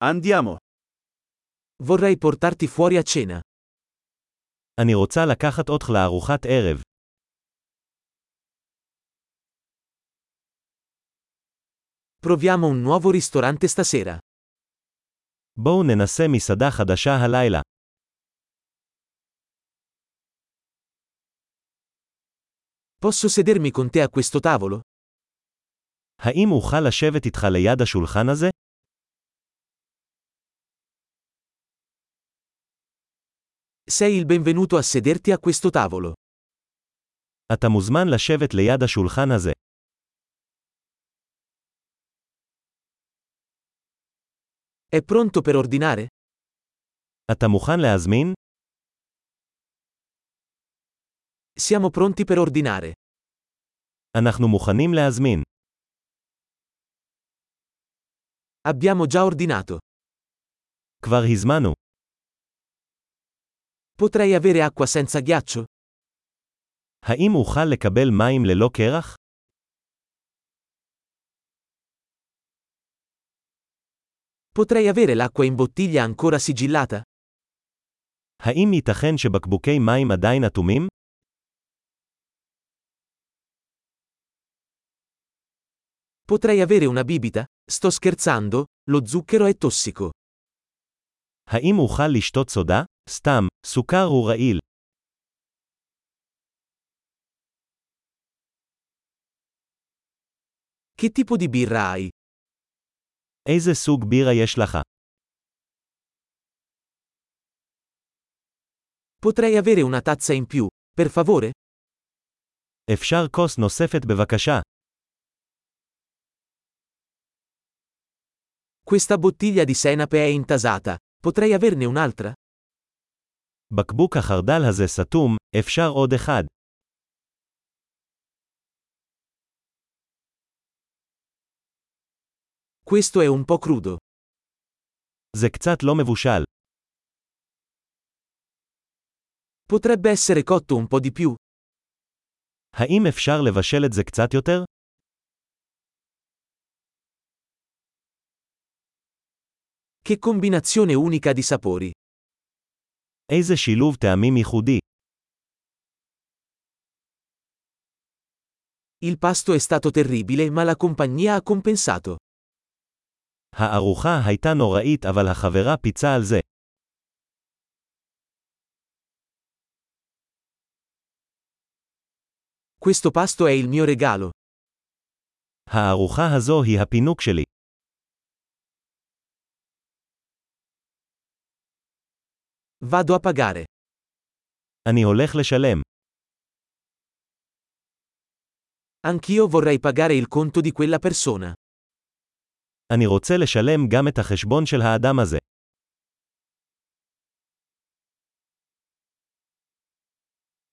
Andiamo. Vorrei portarti fuori a cena. אני רוצה לקחת אותך לארוחת ערב. Proviamo un nuovo ristorante stasera. בואו ננסה מסעדה חדשה הלילה. Posso sedermi con te a questo tavolo? האם אוכל לשבת איתך ליד השולחן הזה? Sei il benvenuto a sederti a questo tavolo. אתה מוזמן לשבת ליד השולחן הזה. È pronto per ordinare? אתה מוכן להזמין? Siamo pronti per ordinare. אנחנו מוכנים להזמין. Abbiamo già ordinato. כבר הזמנו. Potrei avere acqua senza ghiaccio? האם אוכל לקבל מים ללא קרח? Potrei avere l'acqua in bottiglia ancora sigillata? האם ייתכן שבקבוקי מים עדיין אטומים? Potrei avere una bibita? Sto scherzando, lo zucchero è tossico. האם אוכל לשתות סודה? סתם, סוכר הוא רעיל. Che tipo di birra hai? איזה סוג בירה יש לך? Potrei avere una tazza in più, per favore? אפשר כוס נוספת בבקשה. Questa bottiglia di senape è intasata. Potrei averne un'altra? בקבוק החרדל הזה סתום, אפשר עוד אחד. Questo è un po' crudo. זה קצת לא מבושל. Potrebbe essere cotto un po' di più. האם אפשר לבשל את זה קצת יותר? Che combinazione unica di sapori. איזה שילוב טעמים ייחודי. Il pasto è stato terribile ma la compagnia ha compensato. הארוחה הייתה נוראית אבל החברה פיצה על זה. Questo pasto è il mio regalo. הארוחה הזו היא הפינוק שלי. Vado a pagare. אני הולך לשלם. Anch'io vorrei pagare il conto di quella persona. אני רוצה לשלם גם את החשבון של האדם הזה.